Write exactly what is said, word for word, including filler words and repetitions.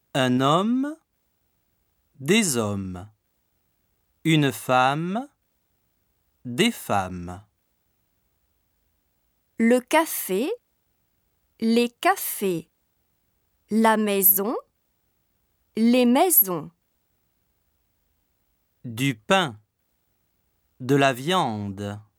Un homme, des hommes. Une femme, des femmes. Le café, les cafés. La maison, les maisons. Du pain, de la viande.